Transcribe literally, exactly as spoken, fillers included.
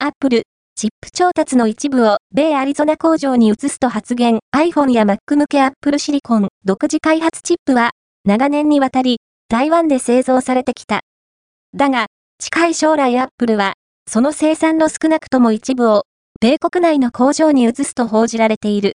Apple、チップ調達の一部を米アリゾナ工場に移すと発言。iPhone や Mac 向け Apple シリコン独自開発チップは長年にわたり台湾で製造されてきた。だが、近い将来 Apple はその生産の少なくとも一部を米国内の工場に移すと報じられている。